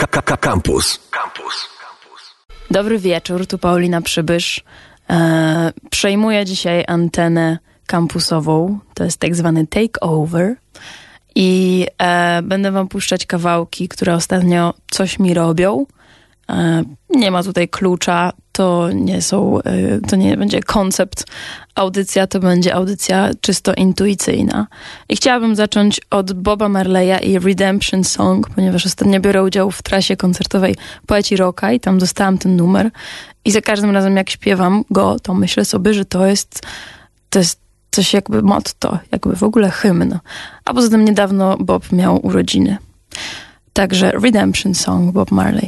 Campus. Dobry wieczór, tu Paulina Przybysz. Przejmuję dzisiaj antenę kampusową. To jest tak zwany takeover. I będę wam puszczać kawałki, które ostatnio coś mi robią. Nie ma tutaj klucza, to nie będzie koncept audycja, to będzie audycja czysto intuicyjna. I chciałabym zacząć od Boba Marleya i Redemption Song, ponieważ ostatnio biorę udział w trasie koncertowej Poeci Rocka i tam dostałam ten numer. I za każdym razem jak śpiewam go, to myślę sobie, że to jest coś jakby motto, jakby w ogóle hymn. A poza tym niedawno Bob miał urodziny. Także Redemption Song, Bob Marley.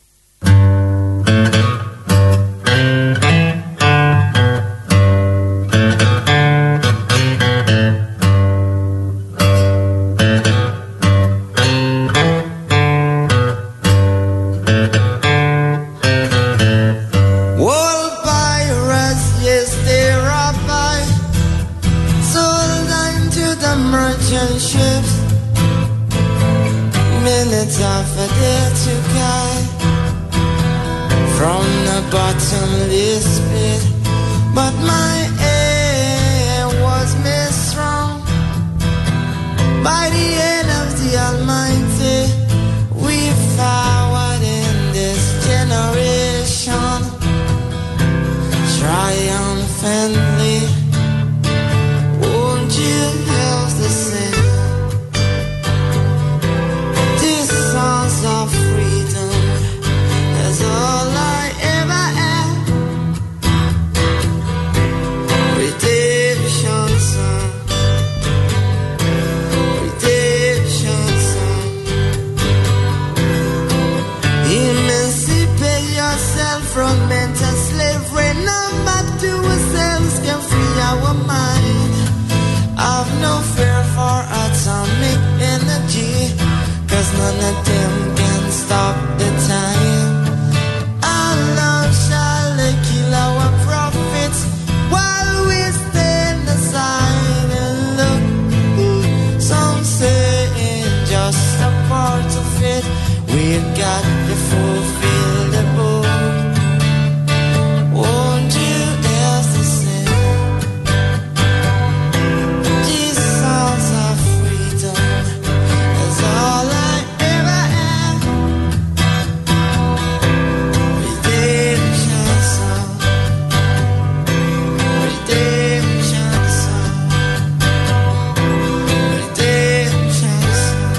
Of a day to guide from the bottomless pit, but my aim was made strong by the hand of the Almighty. We forward in this generation triumphantly. Won't you help the sin? Of freedom is all I ever had. Redemption song, redemption song. Emancipate yourself from mental slavery. None but ourselves can free our mind. I've no fear for atomic energy, 'cause none of them can stop the time. Our love shall kill our prophets while we stand aside and look. Some say it's just a part of it. We've got to fulfill the book. Won't you else to sin? These songs of freedom is all I ever had. Redemption song, redemption song, redemption song.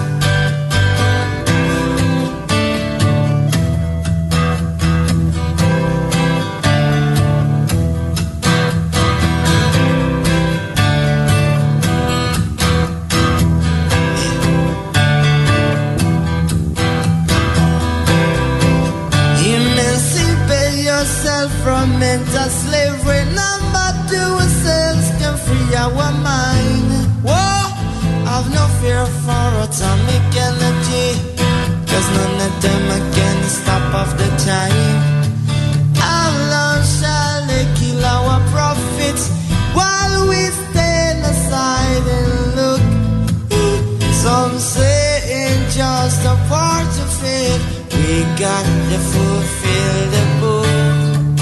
Emancipate yourself from mental slavery. None but ourselves can free our mind. Whoa, I've no fear for atomic energy, 'cause none of them can stop off the time. Our love shall kill our prophets while we stand aside and look. Some say it's just a part of it. We got to fulfill the book.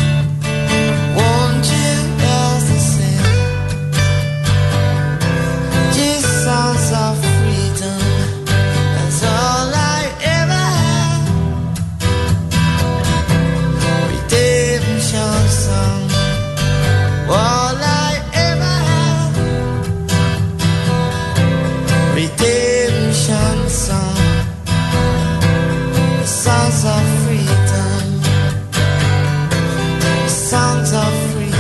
Won't you else to sin? These songs of freedom, that's all I ever had. Redemption song, all I ever had. Redemption song, songs of freedom, songs of freedom.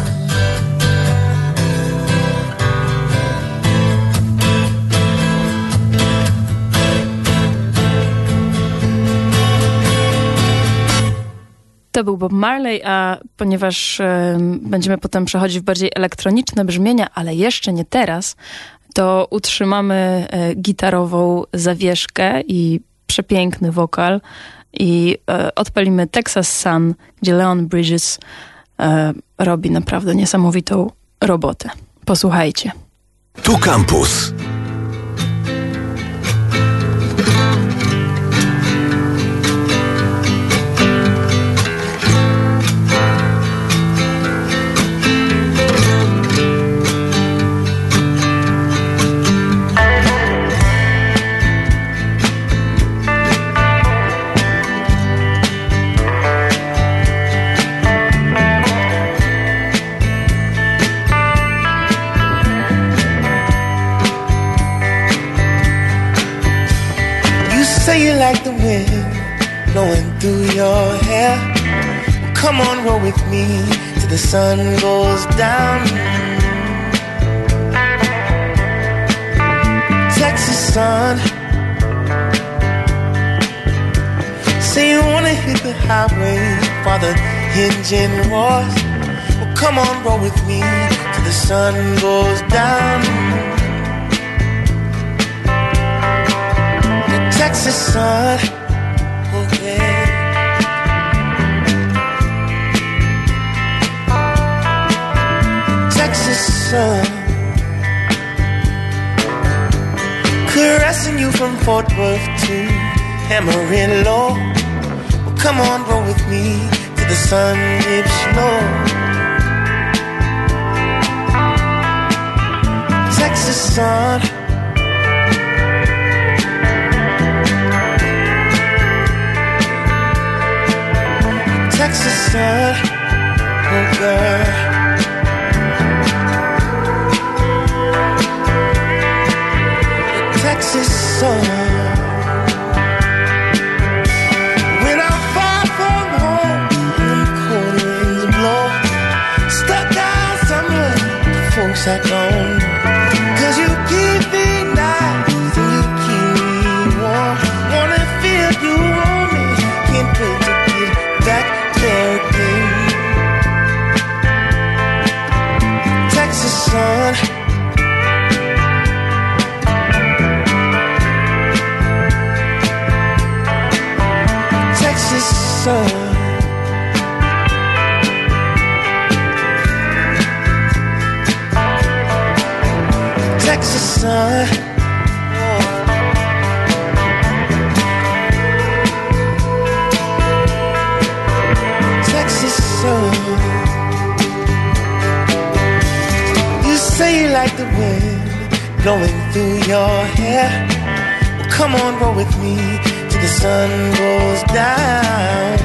To był Bob Marley, a ponieważ będziemy potem przechodzić w bardziej elektroniczne brzmienia, ale jeszcze nie teraz, to utrzymamy gitarową zawieszkę i przepiękny wokal i odpalimy Texas Sun, gdzie Leon Bridges robi naprawdę niesamowitą robotę. Posłuchajcie. Tu Campus. wind blowing through your hair. Come on, roll with me till the sun goes down. Texas sun. Say you wanna hit the highway while the engine roars. Well, come on, roll with me till the sun goes down. The Texas sun, okay. Texas sun, caressing you from Fort Worth to Amarillo. Well, come on, roll with me till the sun dips low. Texas sun, Texas sun, oh girl. Texas sun. When I'm far from home and the cold winds blow, stuck out somewhere, folks I don't know. 'Cause you keep me nice and you keep me warm. Wanna feel you on me, can't wait to get back there again. Texas sun. Texas sun. Texas sun. Oh. Texas sun. You say you like the wind blowing through your hair. Well, come on, roll with me till the sun goes down.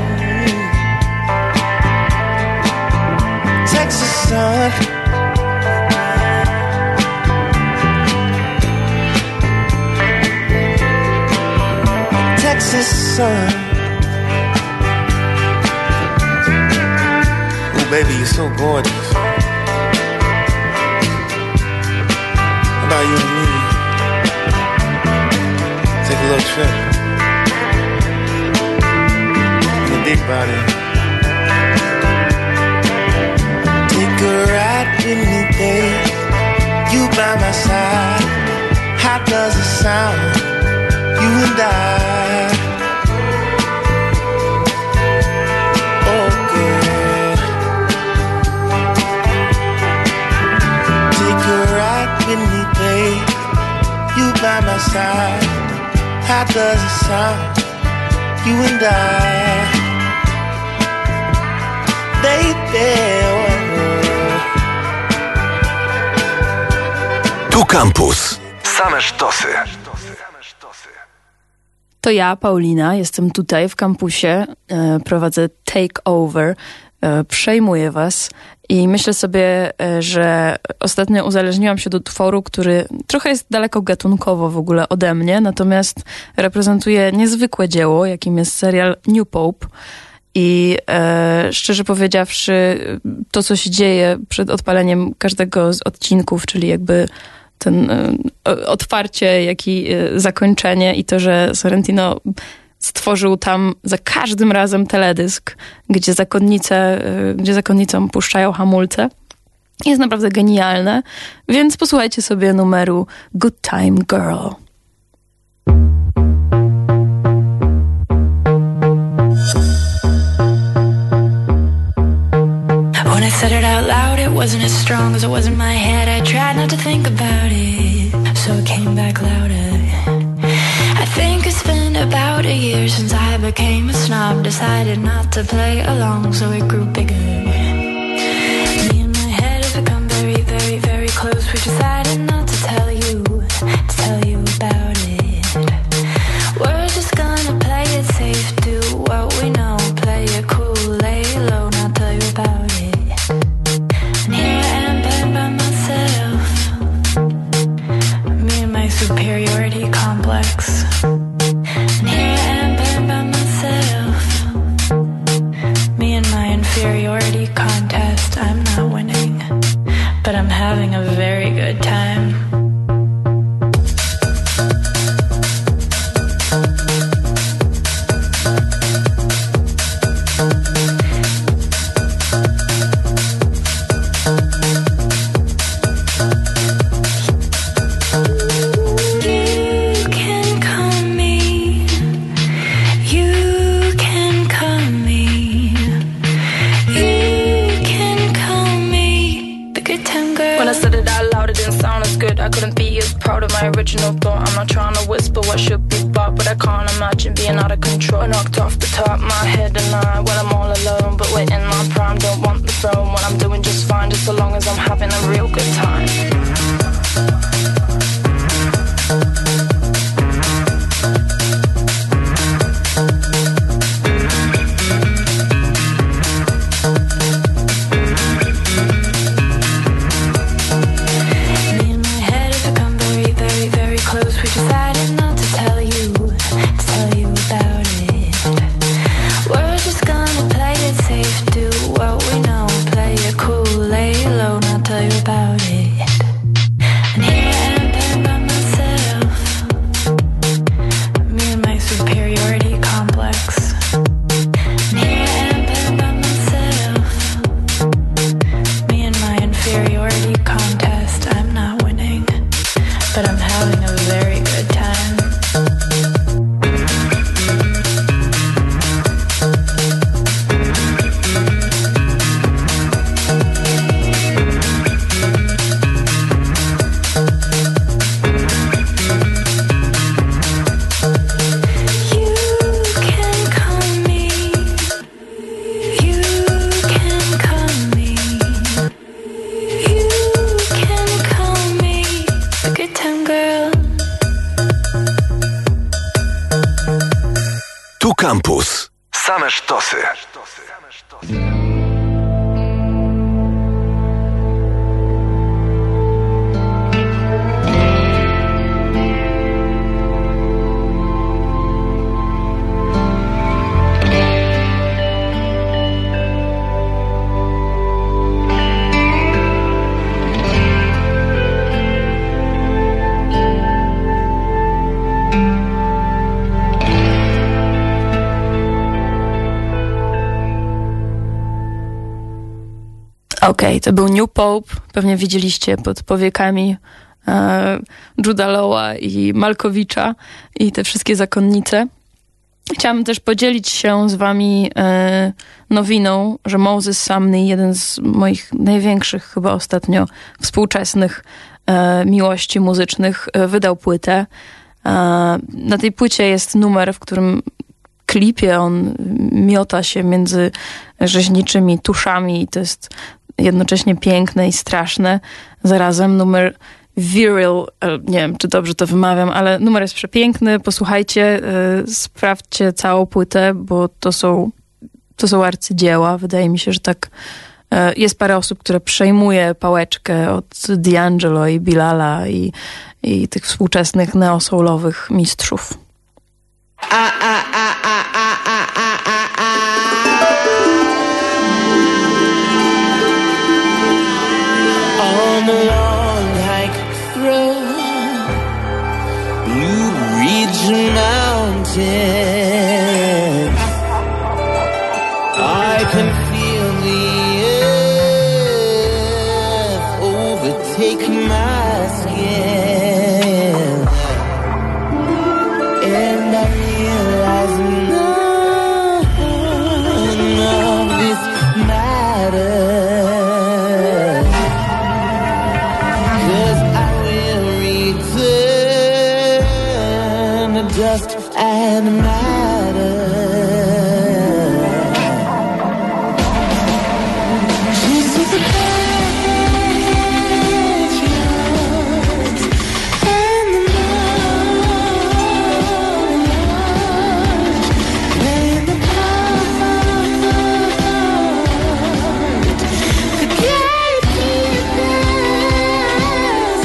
Texas sun. Texas sun. Oh, baby, you're so gorgeous. How about you and me? Take a little trip. Big body. Take a ride with me, babe. You by my side. How does it sound? You and I. Oh, girl. Take a ride with me, babe. You by my side. How does it sound? You and I. Tu Campus. Same sztosy. To ja, Paulina, jestem tutaj w kampusie, prowadzę Take Over, przejmuję was i myślę sobie, że ostatnio uzależniłam się do utworu, który trochę jest daleko gatunkowo w ogóle ode mnie, natomiast reprezentuje niezwykłe dzieło, jakim jest serial New Pope. I szczerze powiedziawszy, to co się dzieje przed odpaleniem każdego z odcinków, czyli jakby ten otwarcie, jak i zakończenie i to, że Sorrentino stworzył tam za każdym razem teledysk, gdzie zakonnicom puszczają hamulce, jest naprawdę genialne, więc posłuchajcie sobie numeru Good Time Girl. When I said it out loud, it wasn't as strong as it was in my head. I tried not to think about it, so it came back louder. I think it's been about a year since I became a snob. Decided not to play along, so it grew bigger. Me and my head have become very, very, very close. We decided not to tell you about it. We're just gonna play it safe, do what we know, play it cool, lay low, not tell you about it. And here I am by myself, me and my superiority complex. And here I am original thought. I'm not trying to whisper what should be bought, but I can't imagine being out of control. Knocked off the top, my head and I, when I'm all alone. But we're in my prime, don't want the throne. When I'm doing just fine, just so long as I'm having a real good time. Campus. Same sztosy. Okej, to był New Pope, pewnie widzieliście pod powiekami Juda Lawa i Malkowicza i te wszystkie zakonnice. Chciałam też podzielić się z wami nowiną, że Moses Sumney, jeden z moich największych chyba ostatnio współczesnych miłości muzycznych, wydał płytę. Na tej płycie jest numer, w którym klipie on miota się między rzeźniczymi tuszami i to jest jednocześnie piękne i straszne. Zarazem numer Virile, nie wiem, czy dobrze to wymawiam, ale numer jest przepiękny. Posłuchajcie, sprawdźcie całą płytę, bo to są arcydzieła. Wydaje mi się, że tak jest parę osób, które przejmuje pałeczkę od D'Angelo i Bilala i tych współczesnych neo-soulowych mistrzów. On the long hike through Blue Ridge Mountain, I can feel the earth overtake my skin, and I realize none of this matters. Dust and matter. This is the backyards and the mountains and the pond. The gatekeepers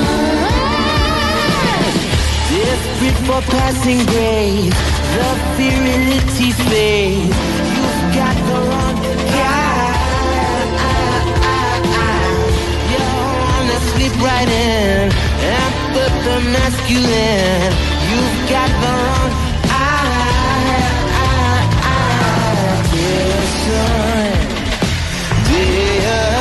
night. Desperate for passing grade, the virility fades. You've got the wrong guy. You're on the slip right in and put the masculine. You've got the wrong dear son, dear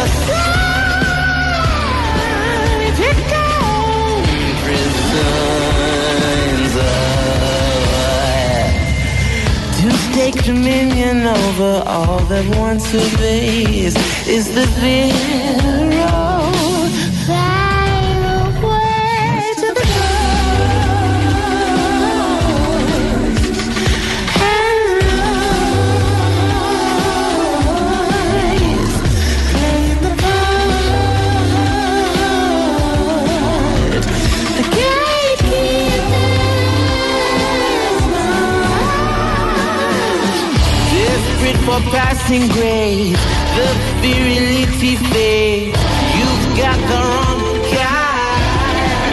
son, if you go prison. To take dominion over all that once obeys is the virile. Fly away to the desperate for passing grace. The virility fades. You've got the wrong guy.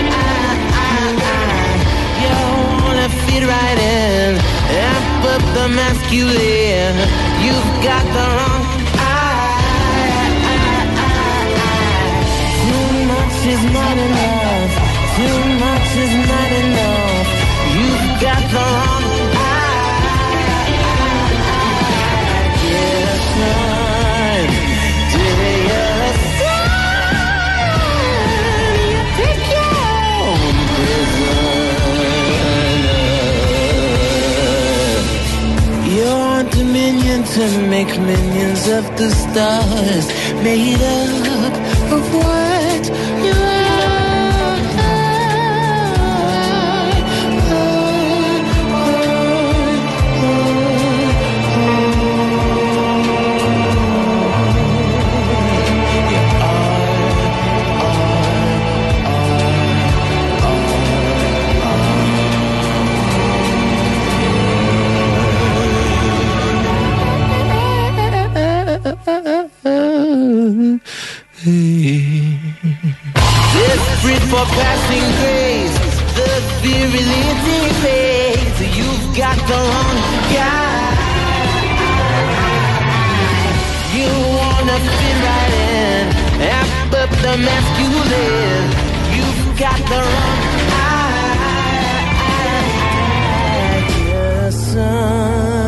You wanna fit right in, amp up the masculine. You've got the wrong eye. Too much is not enough. Too much is not enough. You've got the wrong eye. Yes, son. Do you son? You pick your own prisoner. Your dominion to make minions of the stars, made up of what you are. Desperate for passing grace, the virility fades. You've got the wrong guy. You wanna fit right in, amp up the masculine. You've got the wrong eye. Yes, son.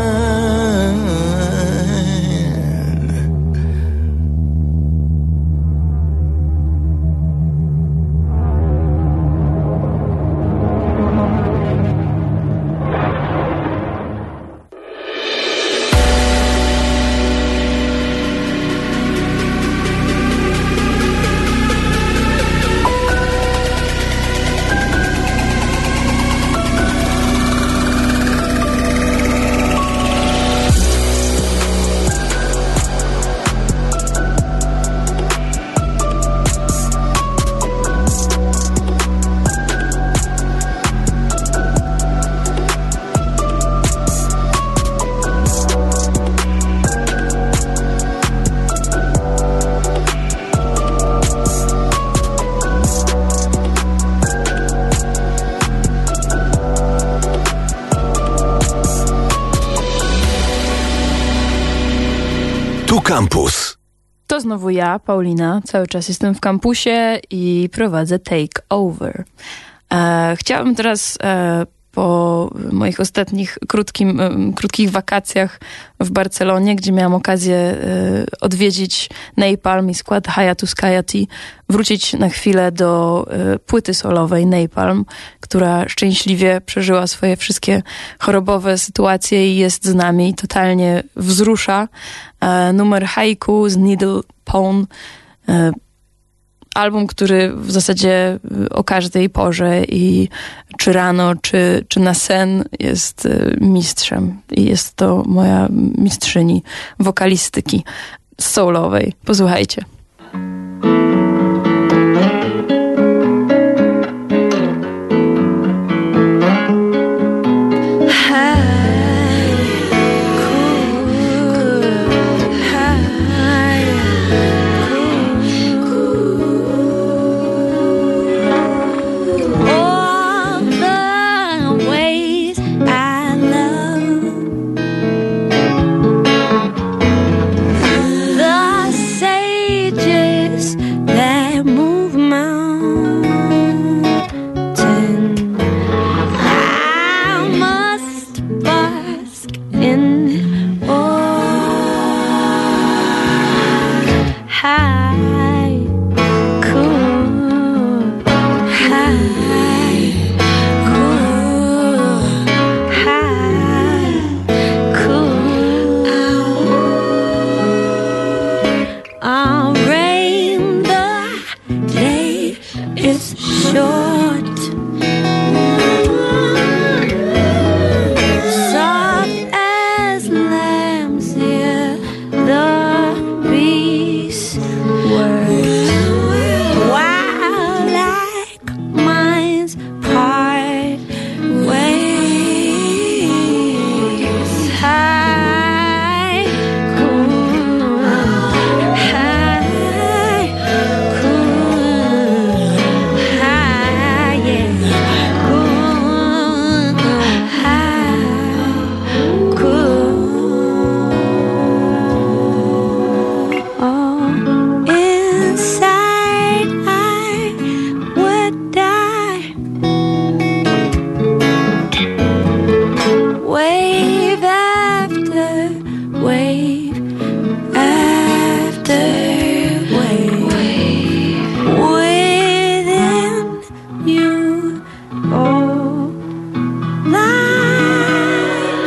Campus. To znowu ja, Paulina. Cały czas jestem w kampusie i prowadzę Take Over. Chciałabym teraz po moich ostatnich krótkich wakacjach w Barcelonie, gdzie miałam okazję odwiedzić Napalm i skład Hayatus Kayati, wrócić na chwilę do płyty solowej Napalm, która szczęśliwie przeżyła swoje wszystkie chorobowe sytuacje i jest z nami, totalnie wzrusza. Numer Haiku z Needle Pawn, album, który w zasadzie o każdej porze i czy rano, czy na sen jest mistrzem. I jest to moja mistrzyni wokalistyki soulowej. Posłuchajcie. wave after wave within you all life.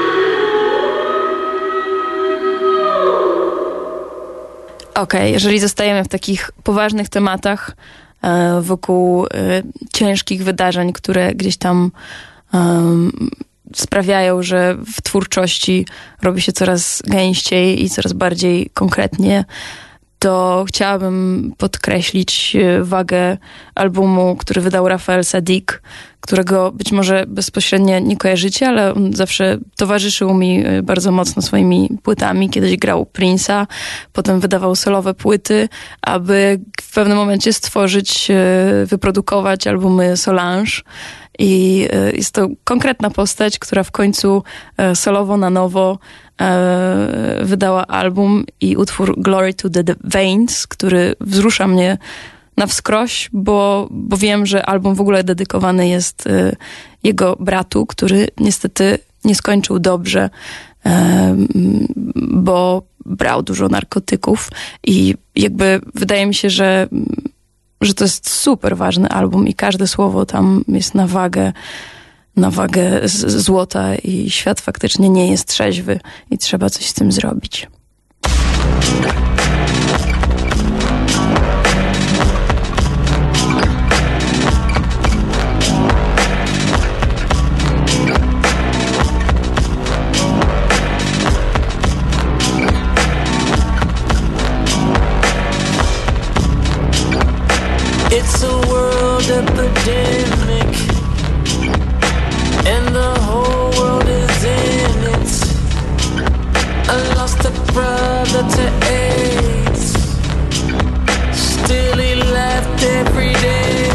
Okej, jeżeli zostajemy w takich poważnych tematach wokół ciężkich wydarzeń, które gdzieś tam sprawiają, że w twórczości robi się coraz gęściej i coraz bardziej konkretnie, to chciałabym podkreślić wagę albumu, który wydał Raphael Saadiq, którego być może bezpośrednio nie kojarzycie, ale on zawsze towarzyszył mi bardzo mocno swoimi płytami. Kiedyś grał Prince'a, potem wydawał solowe płyty, aby w pewnym momencie stworzyć, wyprodukować albumy Solange. I jest to konkretna postać, która w końcu solowo na nowo wydała album i utwór Glory to the Veins, który wzrusza mnie na wskroś, bo wiem, że album w ogóle dedykowany jest jego bratu, który niestety nie skończył dobrze, bo brał dużo narkotyków i jakby wydaje mi się, że to jest super ważny album i każde słowo tam jest na wagę złota i świat faktycznie nie jest trzeźwy i trzeba coś z tym zrobić. It's a world epidemic, and the whole world is in it. I lost a brother to AIDS, still he left every day.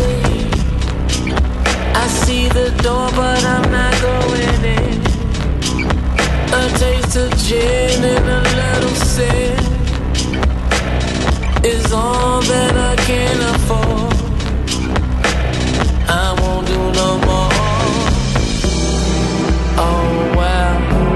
I see the door but I'm not going in. A taste of gin and a little sin is all that I can afford. I won't do no more. Oh wow.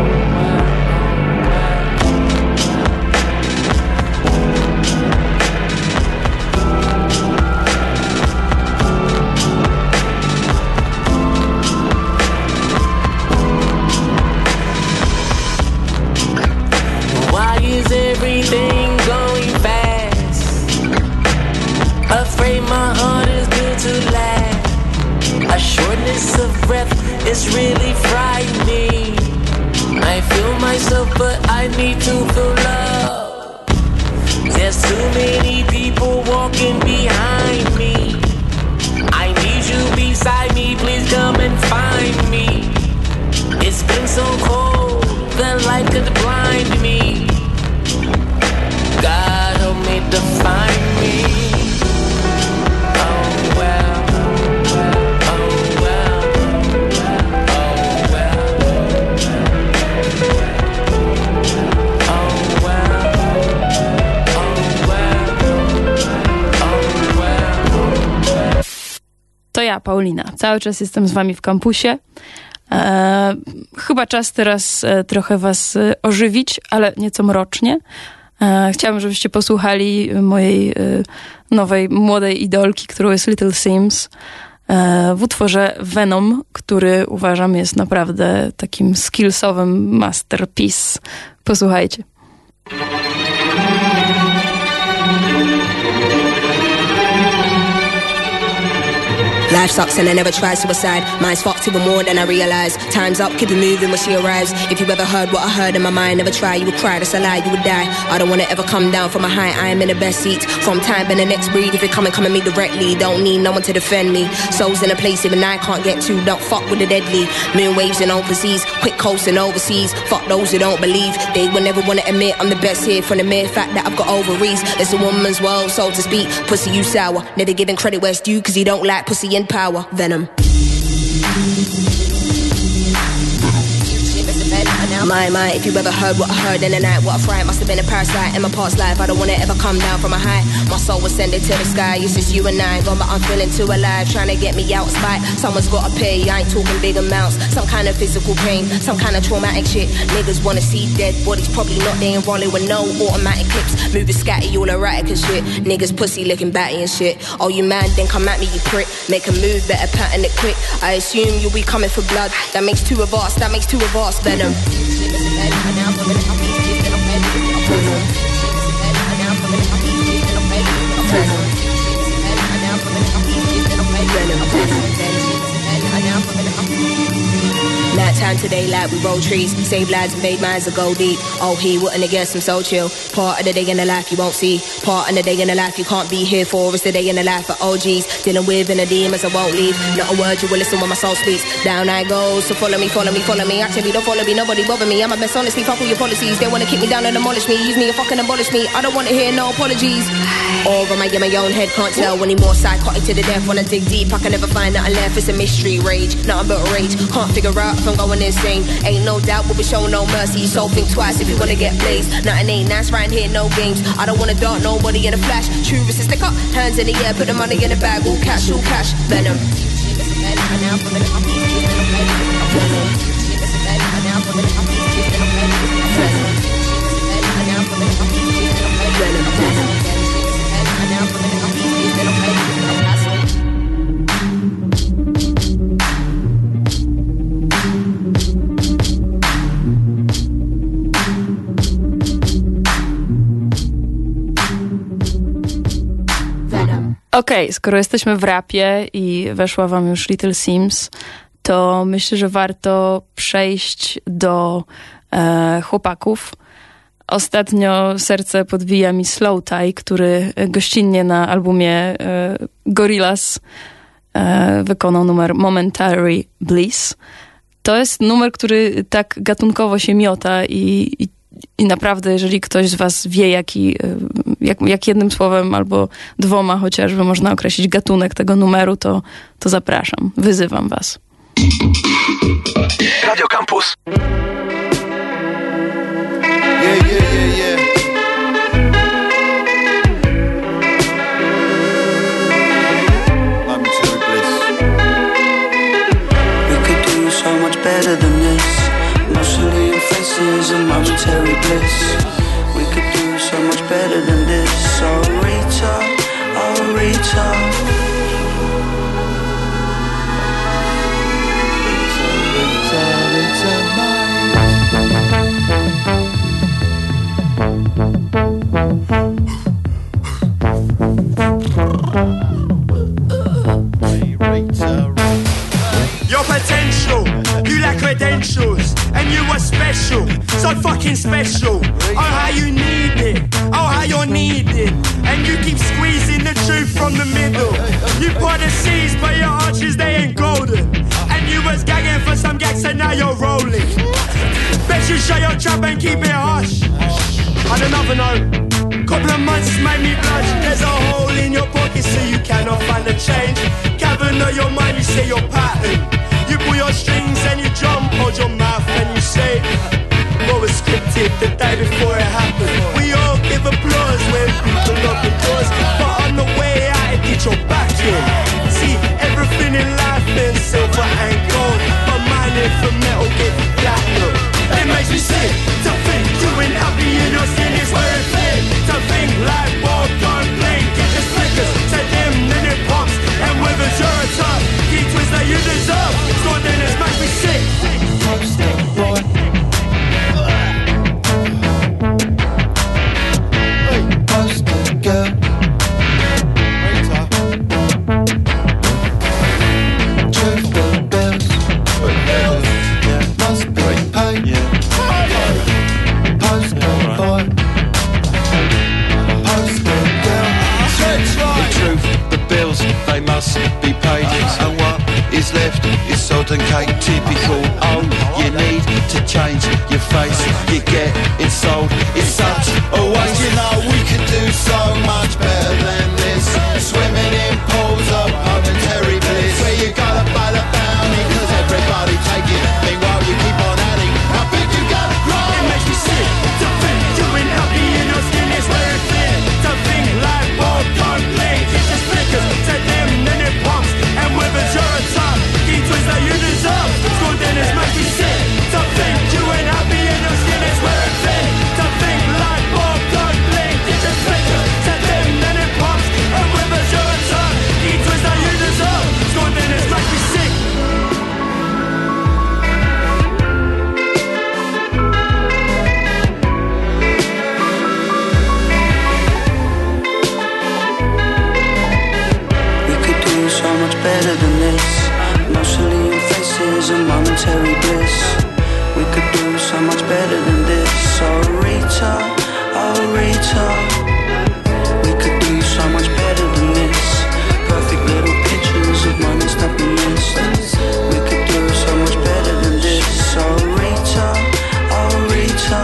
Why is everything going fast? Afraid my heart is built to last. A shortness of breath is really frightening. I feel myself but I need to feel love. There's too many people walking behind me. I need you beside me, please come and find me. It's been so cold, the light could blind me. God help me to find me. Oh well. To ja, Paulina. Cały czas jestem z wami w kampusie. Chyba czas teraz trochę was ożywić, ale nieco mrocznie. Chciałabym, żebyście posłuchali mojej nowej, młodej idolki, którą jest Little Sims, w utworze Venom, który uważam jest naprawdę takim skillsowym masterpiece. Posłuchajcie. Life sucks and I never try suicide. Mine's fucked even more than I realize. Time's up, keep it moving when she arrives. If you ever heard what I heard in my mind, never try, you would cry, that's a lie, you would die. I don't wanna ever come down from a high, I am in the best seat. From time and the next breed, if you come at me directly. Don't need no one to defend me. Souls in a place even I can't get to, don't fuck with the deadly. Moon waves and overseas, quick coasting overseas. Fuck those who don't believe, they will never wanna admit I'm the best here. From the mere fact that I've got ovaries. It's a woman's world, so to speak. Pussy, you sour, never giving credit where it's due, cause you don't like pussy and power. Venom. My, if you ever heard what I heard in the night, what I fright, must have been a parasite in my past life. I don't wanna ever come down from a high. My soul was sending to the sky. It's just you and I, gone, but I'm feeling too alive. Trying to get me out of spite. Someone's gotta pay. I ain't talking big amounts. Some kind of physical pain, some kind of traumatic shit. Niggas wanna see dead bodies, probably not. They ain't rolling with no automatic clips. Moving scatty, all erratic and shit. Niggas pussy looking batty and shit. Oh, you mad? Then come at me, you prick. Make a move, better pattern it quick. I assume you'll be coming for blood. That makes two of us. Venom. Nighttime today, like we roll trees. Save lives and made minds that go deep. Oh, he wouldn't have guessed I'm so chill. Part of the day in the life you won't see. Part of the day in the life you can't be here for. It's the day in the life of OGs. Dealing with inner demons I won't leave. Not a word you will listen when my soul speaks. Down I go, so follow me. Actually don't follow me, nobody bother me. I'm a best honestly, fuck all your policies. They wanna keep me down and demolish me. Use me and fucking abolish me. I don't wanna hear no apologies. Or am I in my own head, can't tell. Any more psychotic to the death. Wanna dig deep, I can never find nothing left. It's a mystery, rage, nothing but rage. Can't figure out if I'm going insane. Ain't no doubt we'll be showing no mercy. So think twice if you wanna get blazed. Nothing ain't nice right here, no games. I don't wanna dart nobody in a flash. True is to stick up, hands in the air, put the money in the bag. All cash, venom. Okej, skoro jesteśmy w rapie i weszła wam już Little Sims, to myślę, że warto przejść do chłopaków. Ostatnio serce podbija mi Slow Tie, który gościnnie na albumie Gorillaz wykonał numer Momentary Bliss. To jest numer, który tak gatunkowo się miota i naprawdę, jeżeli ktoś z was wie, jak jednym słowem albo dwoma chociażby można określić gatunek tego numeru, to zapraszam, wyzywam was. Radio Campus. Yeah. Momentary bliss. We could do so much better than this. Emotionally in faces and momentary bliss. We could do so much better than this. Oh Rita, oh Rita. Your potential, you lack credentials, and you are special, so fucking special. Oh how you need it, oh how you're needed, and you keep squeezing the truth from the middle. You part the seas, but your arches they ain't golden, and you was gagging for some gags and now you're rolling. Bet you shut your trap and keep it hush. On another note, couple of months made me blush. There's a hole in your pocket so you cannot find the change. Cavern of your mind, you say your pattern. You pull your strings and you jump, hold your mouth and you say what was scripted the day before it happened. We all give applause when people open doors, but on the way out, get your back in. See, everything in life is silver and gold, but mine is for metal, get platinum. It makes me sick to think doing happy in your skin is where it fit. To think like ball gone blink, get the flickers, take them then it pops, and withers you're a top. Key twist that you deserve, so then it makes me sick. Boy. Poster girl. Truthful bills. Must be paid. Poster boy. Poster girl. The truth, the bills, they must be paid. And what is left is sod and cake. Typical, oh, you need to change your face. You get insulted, it's such a waste. You know we could do so much better than this. Swimming in pools of momentary bliss, where you gotta pay the bounty, cause everybody take it. Meanwhile you keep on adding. I bet you gotta better than this. Emotionally in faces and momentary bliss. We could do so much better than this. Oh Rita, oh Rita, we could do so much better than this. Perfect little pictures of moments that we missed. We could do so much better than this. Oh Rita, oh Rita.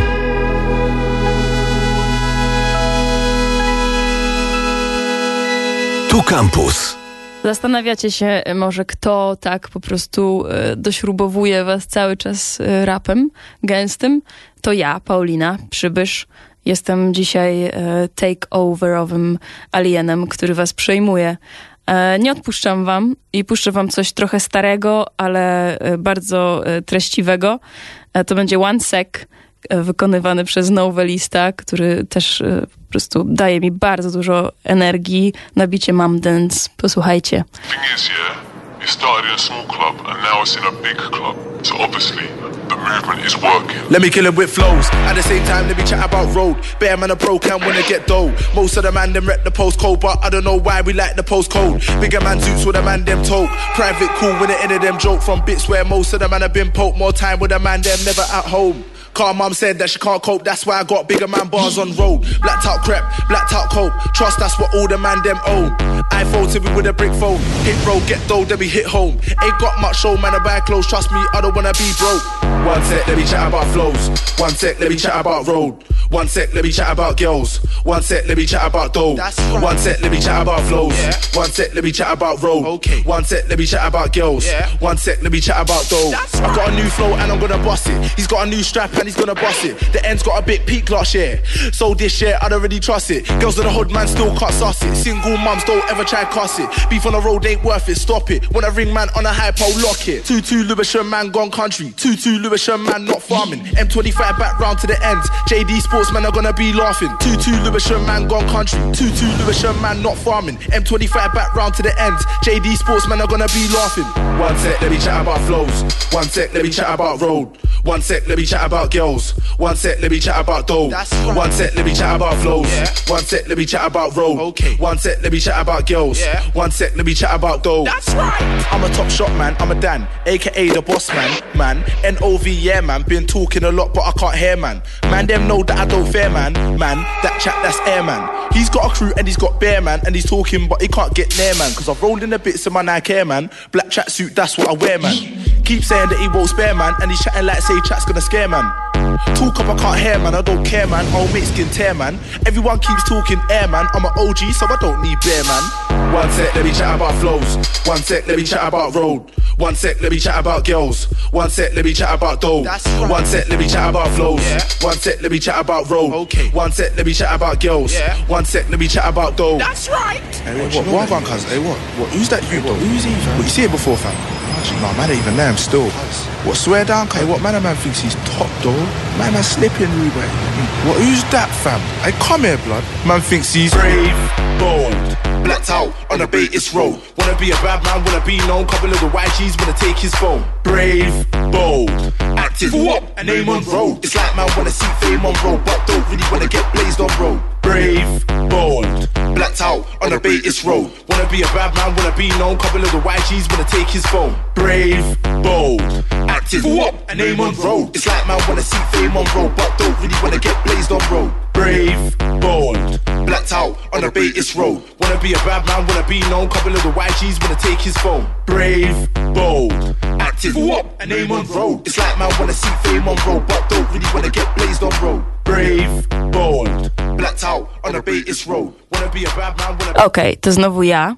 Tu Campus. Zastanawiacie się może, kto tak po prostu dośrubowuje was cały czas rapem gęstym? To ja, Paulina Przybysz. Jestem dzisiaj takeoverowym alienem, który was przejmuje. Nie odpuszczam wam i puszczę wam coś trochę starego, ale bardzo treściwego. To będzie One Sec, wykonywany przez Novelista, który też po prostu daje mi bardzo dużo energii na bicie Mum Dance. Posłuchajcie. Thing is, yeah, it started in a small club and now it's in a big club. So obviously, the movement is working. Let me kill it with flows. At the same time, let me chat about road. Bear man a broke and wanna get dough. Most of the man them rep the postcode, but I don't know why we like the postcode. Bigger man suits with a man them told. Private cool when the end of them joke from bits where most of the man have been poked. More time with a man them never at home. Car mum said that she can't cope, that's why I got bigger man bars on road. Blacked out crep, blacked out cope. Trust that's what all the man them own. iPhone to me with a brick phone. Hit road, get dough, then we hit home. Ain't got much show, man, I buy clothes. Trust me, I don't wanna be broke. One sec, let me chat about flows. One sec, let me chat about road. One sec, let me chat about girls. One sec, let me chat about dough. Right. One sec, let me chat about flows. Yeah. One sec, let me chat about road. Okay. One sec, let me chat about girls. Yeah. One sec, let me chat about dough. Right. I got a new flow and I'm gonna bust it. He's got a new strap and he's gonna bust it. The end's got a bit peak last year, so this year I don't really trust it. Girls in the hood, man, still can't suss it. Single mums don't ever try cuss it. Beef on the road ain't worth it, stop it. When I ring man on a hype, I'll lock it. 2-2 Lewisham man gone country. 2-2 Lewisham man not farming. M25 back round to the ends. JD Sportsmen are gonna be laughing. 2-2 Lewisham man gone country. 2-2 Lewisham man not farming. M25 back round to the ends. JD Sportsmen are gonna be laughing. One sec, let me chat about flows. One sec, let me chat about road. One sec, let me chat about girls. One sec, let me chat about dough. Right. One sec, let me chat about flows. Yeah. One sec, let me chat about road. Okay. One sec, let me chat about girls. Yeah. One sec, let me chat about dough. That's right. I'm a top shot man, I'm a Dan, aka the boss man. N-O-V, yeah man. Been talking a lot, but I can't hear man. Man, them know that I don't fear man. Man, that chat, that's air man. He's got a crew and he's got bear man, and he's talking, but he can't get near man. Cause I've rolled in the bits of my Nike Air man. Black tracksuit, that's what I wear man. Keep saying that he won't spare man, and he's chatting like say chat's gonna scare man. Talk up, I can't hear man, I don't care man. I'll make skin tear man. Everyone keeps talking air man. I'm an OG, so I don't need bear man. One sec, let me chat about flows. One sec, let me chat about road. One sec, let me chat about girls. One sec, let me chat about dough. Right. One sec, let me chat about flows. Yeah. One sec, let me chat about road. Okay. One sec, let me chat about girls. Yeah. One sec, let me chat about dough. That's right. Hey, what on, cuz? Hey, what? Who's that you, though? Who's he, fam? What, you see it before, fam? No, man ain't even there, I'm still. What, swear down, Kai? What, man thinks he's top, though? Man, slipping, Ruben. What, who's that, fam? Hey, come here, blood. Man thinks he's brave, bold, blacked out on a Batis road. Wanna be a bad man, wanna be known. Couple of the YGs wanna take his phone. Brave, bold, active, what? A name on road. It's like man wanna see fame on road, but don't really wanna get blazed on road. Brave, bold, blacked out on a Batis road. Wanna be a bad man, wanna be known. Couple of the YGs wanna take his phone. Brave, bold, active, what? A name on road. It's like man wanna see fame on road, but don't really wanna get blazed on road. Brave, bold, blacked out on a Batis road. Wanna be a bad man, wanna be known. Couple of the YGs wanna take his phone. Brave, bold, active, what? A name on road. It's like man wanna see fame on road, but don't really wanna get blazed on road. Brave, bold, blacked out on a Batis road. Wanna be a bad man, wanna be... Okej, to znowu ja.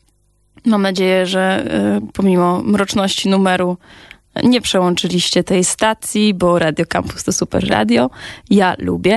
Mam nadzieję, że pomimo mroczności numeru nie przełączyliście tej stacji, bo Radio Campus to super radio. Ja lubię.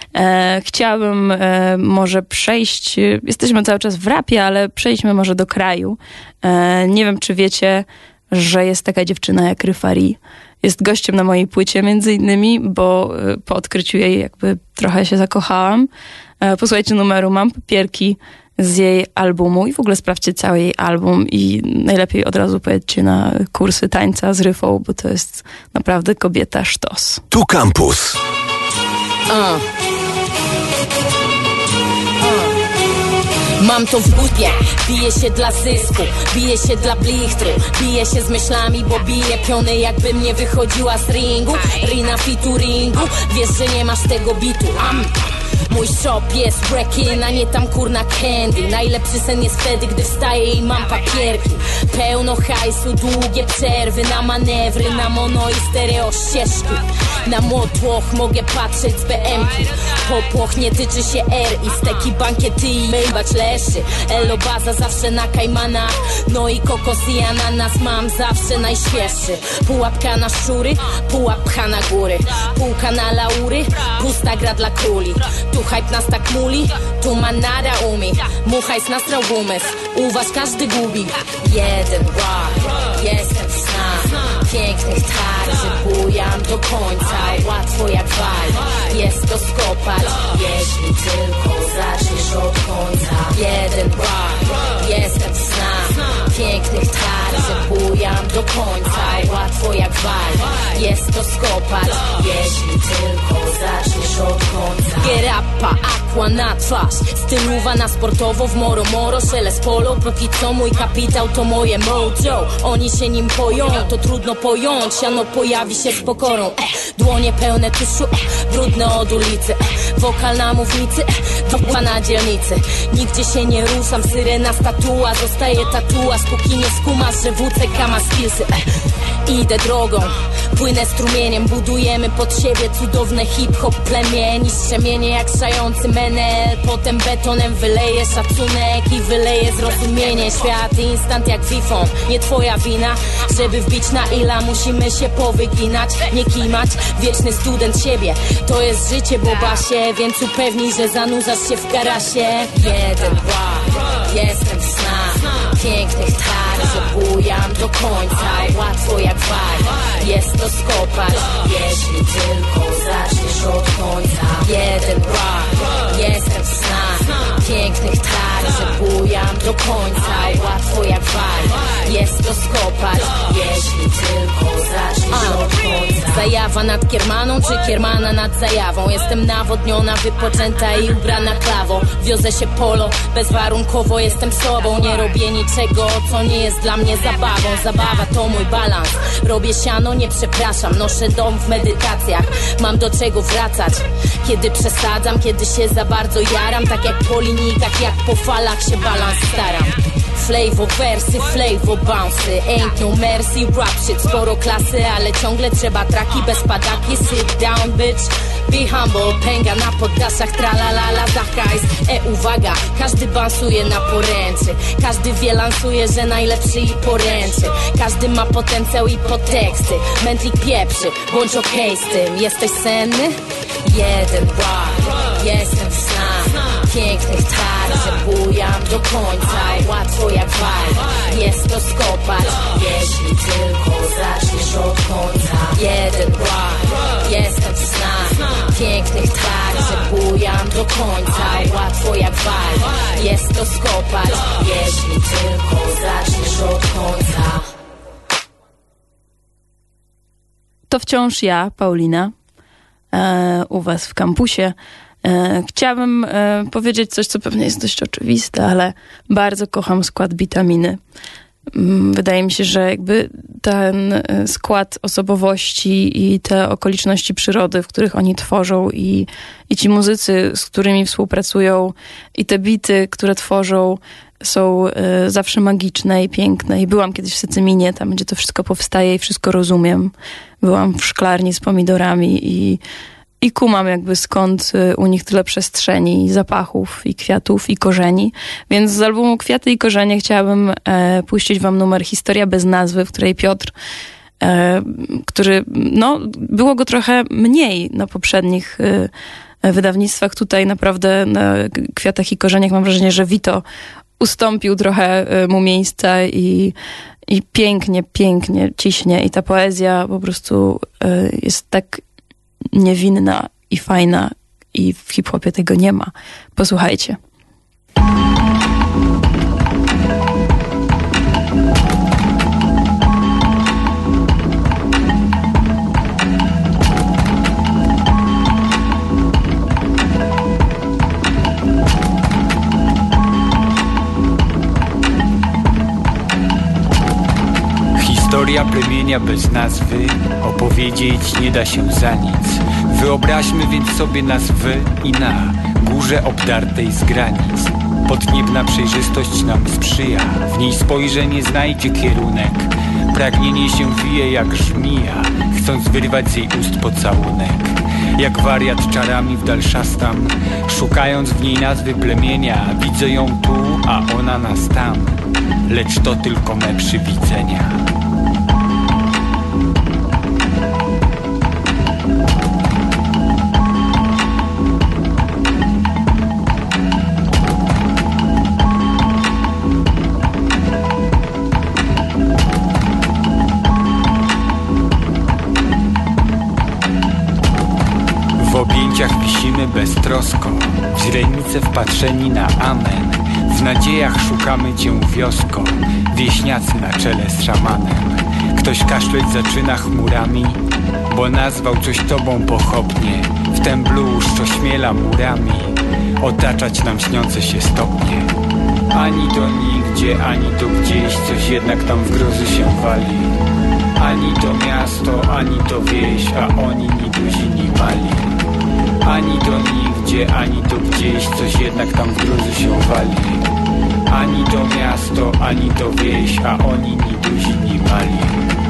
Chciałabym może przejść, jesteśmy cały czas w rapie, ale przejdźmy może do kraju. Nie wiem, czy wiecie, że jest taka dziewczyna jak Ryfari. Jest gościem na mojej płycie między innymi, bo po odkryciu jej jakby trochę się zakochałam. Posłuchajcie numeru, mam papierki z jej albumu i w ogóle sprawdźcie cały jej album i najlepiej od razu pojedźcie na kursy tańca z Ryfą, bo to jest naprawdę kobieta sztos. Tu Campus. Mam to w butnie, biję się dla zysku, biję się dla blichtru, biję się z myślami, bo biję piony jakbym nie wychodziła z ringu. Rina featuringu, wiesz, że nie masz tego bitu. Mój shop jest breaking, a nie tam kurna candy. Najlepszy sen jest wtedy, gdy wstaję i mam papierki. Pełno hajsu, długie przerwy na manewry, na mono i stereo ścieżki. Na motłoch mogę patrzeć z BM-ki. Popłoch nie tyczy się R i steki bankiety i myjbać leszy. Elo baza zawsze na kajmanach, no i kokos i ananas mam zawsze najświeższy. Pułapka na szczury, pułap pcha na góry. Półka na laury, pusta gra dla króli. Tu hype nas tak muli, tu manada umi. Muchajs nastrał umysł, u was każdy gubi. Jeden rock, jestem w snach pięknych tar, że bujam do końca. Łatwo jak wal, jest to skopać, jeśli tylko zaczniesz od końca. Jeden rock, jestem w snach pięknych tar, że bujam do końca. Łatwo jak wal, jest to skopać, jeśli tylko zaczniesz od końca. Gerappa, aqua na twarz, stylowa na sportowo, w moro moro, szelest polo. Póki co mój kapitał to moje mojo. Oni się nim poją, to trudno pojąć. Siano pojawi się z pokorą, dłonie pełne tuszu, brudne od ulicy. Wokal na mównicy, dupła na dzielnicy. Nigdzie się nie ruszam, syrena statua. Zostaje tatuaż, póki nie skumasz, że WCK ma skillsy. Idę drogą, płynę strumieniem. Budujemy pod siebie cudowne hip-hop plemię. Niszczemienie jak szający menel. Potem betonem wyleję szacunek i wyleję zrozumienie. Świat instant jak Wi-Fi, nie twoja wina. Żeby wbić na ila musimy się powyginać. Nie kimać, wieczny student siebie. To jest życie bobasie, więc upewnij, że zanurzasz się w garasie. Jeden rock, jestem w snach pięknych tar, że bujam do końca. Łatwo jak wal, jest to skopać, jeśli tylko zaczniesz od końca. Jeden rock, jestem w snach pięknych tar, że bujam do końca. Łatwo jak wal, jest to skopać, jeśli tylko zaczniesz od końca. Zajawa nad kiermaną, czy kiermana nad zajawą? Jestem nawodniona, wypoczęta i ubrana klawo. Wiozę się polo, bezwarunkowo jestem sobą. Nie robię niczego, co nie jest dla mnie zabawą. Zabawa to mój balans, robię siano, nie przepraszam. Noszę dom w medytacjach, mam do czego wracać. Kiedy przesadzam, kiedy się za bardzo jaram. Tak jak po linijkach, jak po falach się balans staram. Flavor wersy, flavor bouncy, ain't no mercy, rap shit, sporo klasy, ale ciągle trzeba traki bez padaki. Sit down bitch, be humble, pęga na poddaszach, tralalala za hajs. Uwaga, każdy bansuje na poręczy, każdy wie lansuje, że najlepszy i poręczy. Każdy ma potencjał i podteksty, mętlik pieprzy, bądź okej z tym. Jesteś senny? Jeden rock, jestem w snach pięknych tar, że bujam do końca. Łatwo jak wal, jest to skopać, jeśli tylko zaczniesz od końca. Jeden rock, jestem w snach pięknych tar, że bujam do końca. Łatwo jak wal, jest to skopać, jeśli tylko zaczniesz od końca. To wciąż ja, Paulina, u was w kampusie. Chciałabym powiedzieć coś, co pewnie jest dość oczywiste, ale bardzo kocham skład Bitaminy. Wydaje mi się, że jakby ten skład osobowości i te okoliczności przyrody, w których oni tworzą i ci muzycy, z którymi współpracują i te bity, które tworzą, są zawsze magiczne i piękne. I byłam kiedyś w Sycyminie, tam gdzie to wszystko powstaje i wszystko rozumiem. Byłam w szklarni z pomidorami i kumam jakby skąd u nich tyle przestrzeni, i zapachów, i kwiatów, i korzeni. Więc z albumu Kwiaty i korzenie chciałabym puścić wam numer Historia bez nazwy, w której Piotr, który, no, było go trochę mniej na poprzednich wydawnictwach. Tutaj naprawdę na Kwiatach i korzeniach mam wrażenie, że Vito ustąpił trochę mu miejsca i pięknie, pięknie ciśnie. I ta poezja po prostu jest tak niewinna i fajna i w hip-hopie tego nie ma. Posłuchajcie. plemienia bez nazwy, opowiedzieć nie da się za nic. Wyobraźmy więc sobie nas i na górze obdartej z granic. Podniebna przejrzystość nam sprzyja, w niej spojrzenie znajdzie kierunek. Pragnienie się wije jak żmija, chcąc wyrwać z jej ust pocałunek. Jak wariat czarami w dal szastam, szukając w niej nazwy plemienia. Widzę ją tu, a ona nas tam, lecz to tylko me przywidzenia. W objęciach wisimy beztrosko, w źrenice wpatrzeni na amen. W nadziejach szukamy cię wiosko, wieśniacy na czele z szamanem. Ktoś kaszleć zaczyna chmurami, bo nazwał coś tobą pochopnie. Wtem bluszcz ośmiela murami, otaczać nam śniące się stopnie. Ani to nigdzie, ani to gdzieś, coś jednak tam w grozy się wali. Ani to miasto, ani to wieś, a oni ni duzi, ni mali. Ani to nigdzie, ani to gdzieś, coś jednak tam w grozy się wali. Ani to miasto, ani to wieś, a oni ni duzi, ni mali.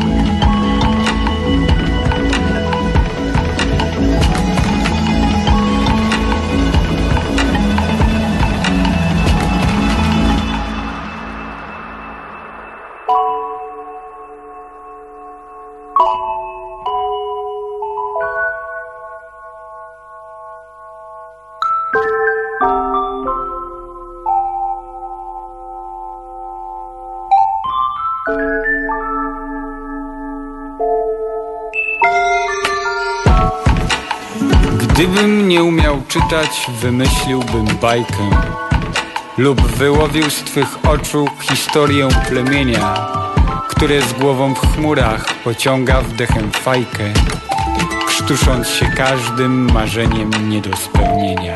Gdybym nie umiał czytać, wymyśliłbym bajkę lub wyłowił z twych oczu historię plemienia, które z głową w chmurach pociąga wdechem fajkę, krztusząc się każdym marzeniem nie do spełnienia.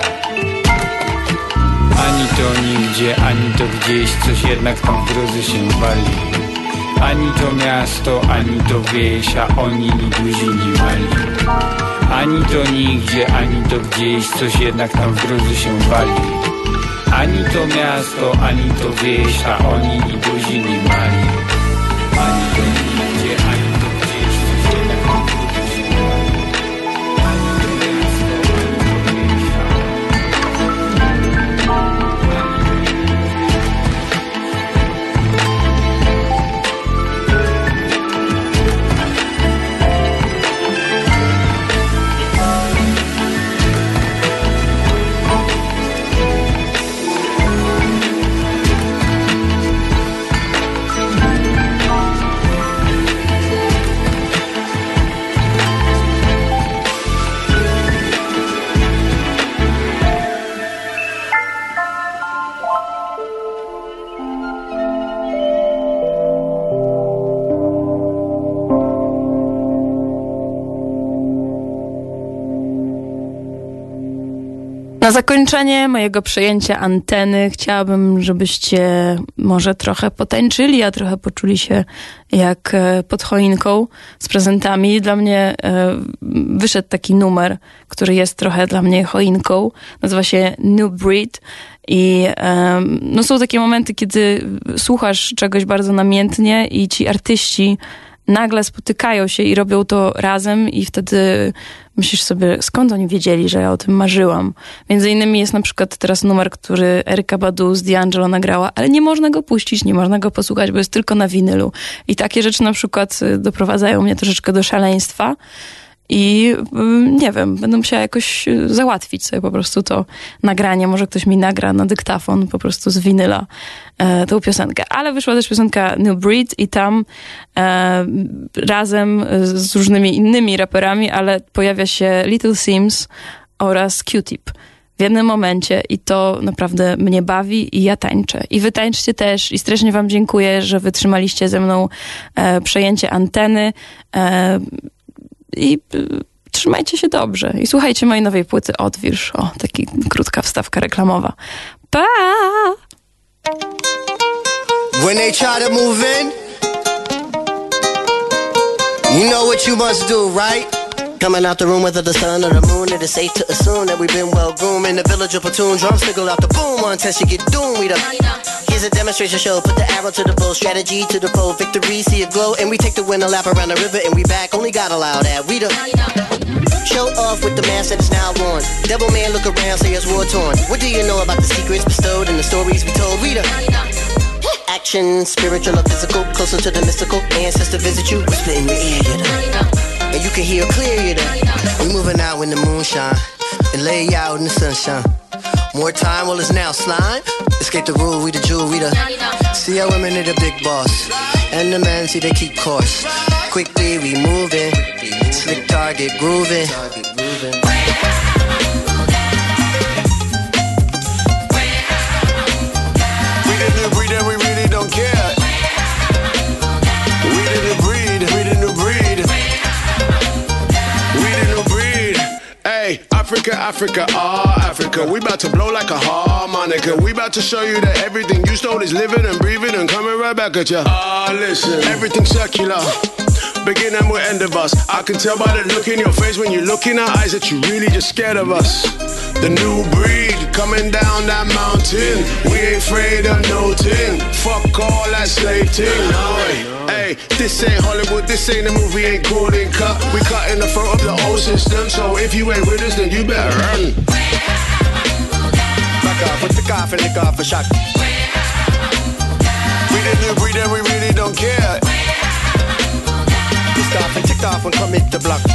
Ani to nigdzie, ani to gdzieś, coś jednak tam w grozy się wali. Ani to miasto, ani to wieś, a oni ni duzi, ni mali. Ani to nigdzie, ani to gdzieś, coś jednak tam w grozy się wali. Ani to miasto, ani to wieś, a oni ni duzi, ni mali. Ani to nigdzie, ani to gdzieś, coś jednak tam w grozy się wali. Ani to miasto, ani to wieś, a Na zakończenie mojego przejęcia anteny chciałabym, żebyście może trochę potańczyli, a trochę poczuli się jak pod choinką z prezentami. Dla mnie wyszedł taki numer, który jest trochę dla mnie choinką. Nazywa się New Breed i no są takie momenty, kiedy słuchasz czegoś bardzo namiętnie i ci artyści nagle spotykają się i robią to razem i wtedy myślisz sobie, skąd oni wiedzieli, że ja o tym marzyłam. Między innymi jest na przykład teraz numer, który Erykka Badu z D'Angelo nagrała, ale nie można go puścić, nie można go posłuchać, bo jest tylko na winylu. I takie rzeczy na przykład doprowadzają mnie troszeczkę do szaleństwa. I nie wiem, będę musiała jakoś załatwić sobie po prostu to nagranie. Może ktoś mi nagra na dyktafon po prostu z winyla tą piosenkę. Ale wyszła też piosenka New Breed i tam razem z różnymi innymi raperami, ale pojawia się Little Sims oraz Q-Tip w jednym momencie i to naprawdę mnie bawi i ja tańczę. I wy tańczcie też i strasznie wam dziękuję, że wytrzymaliście ze mną przejęcie anteny. I trzymajcie się dobrze. I słuchajcie mojej nowej płyty Odwilż. O, taki krótka wstawka reklamowa. Pa! When they try to move in, You know what you must do, right? Coming out the room whether the sun or the moon, it is safe to assume that we've been well groomed. In the village of platoon, drums signal out the boom. One test you get doomed, we the here's a demonstration show, put the arrow to the bow, strategy to the foe, victory, see it glow, and we take the winner lap around the river, and we back, only God allow that, we the show off with the mask that is now worn. Devil man look around, say it's war torn. What do you know about the secrets bestowed and the stories we told, we the action, spiritual or physical, closer to the mystical, ancestor visit you, whisper in your ear, you the and you can hear clear, you the we moving out when the moon shine, and lay out in the sunshine. More time, well it's now slime. Escape the rule, we the jewel, we the see how women are the big boss, and the men see they keep course. Quickly we moving, slick target grooving. We the new breed and we really don't care. We the new breed, we the new breed. We the new breed. Hey, Africa, Africa, Africa. We about to blow like a harmonica. We about to show you that everything you stole is living and breathing and coming right back at ya. Listen, everything's circular. Begin and we'll end of us. I can tell by the look in your face when you look in our eyes that you really just scared of us. The new breed coming down that mountain. We ain't afraid of no thing. Fuck all that slave thing, no way. Hey, this ain't Hollywood, this ain't a movie, ain't golden cut. We cut in the front of the old system, so if you ain't with us, then you better run. Back off, with the cough and lick off a shot. We the new breed and we really don't care. Pissed off and ticked off and commit the block.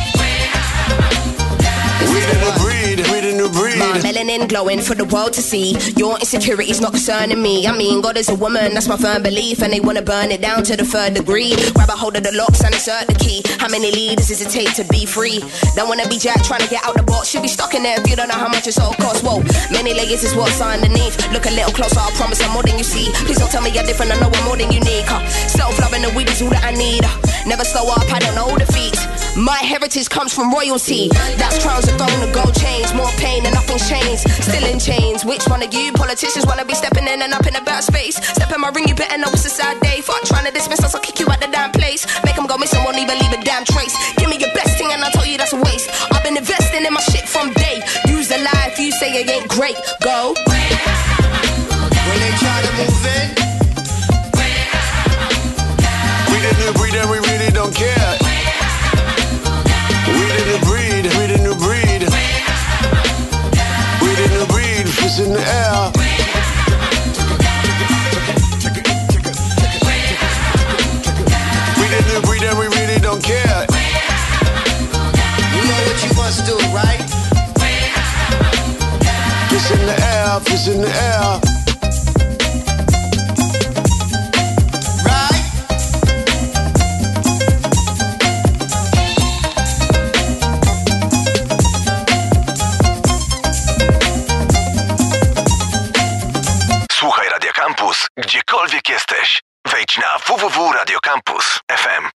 We the new breed, we the new breed. My melanin glowing for the world to see. Your insecurity's not concerning me. I mean, God is a woman, that's my firm belief. And they wanna burn it down to the third degree. Grab a hold of the locks and insert the key. How many leaders does it take to be free? Don't wanna be Jack trying to get out the box. Should be stuck in there if you don't know how much it's all costs. Whoa, many layers is what's underneath. Look a little closer, I promise I'm more than you see. Please don't tell me you're different, I know I'm more than unique. Self-loving the weed is all that I need. Never slow up, I don't know defeat. My heritage comes from royalty. That's crowns of throne and gold chains. More pain and nothing's changed. Still in chains. Which one of you politicians wanna be stepping in and up in a bad space? Step in my ring, you better know it's a sad day. Fuck trying to dismiss us, I'll kick you out the damn place. Make them go missing, won't even leave a damn trace. Give me your best thing and I'll tell you that's a waste. I've been investing in my shit from day. Use the lie if you say it ain't great. Go. When they try to move in, we the new breed and we really don't care. We the new breed, we the new breed. We the new breed, it's in the air. We the new breed and we really don't care. you know what you must do, right? It's in the air, it's in the air.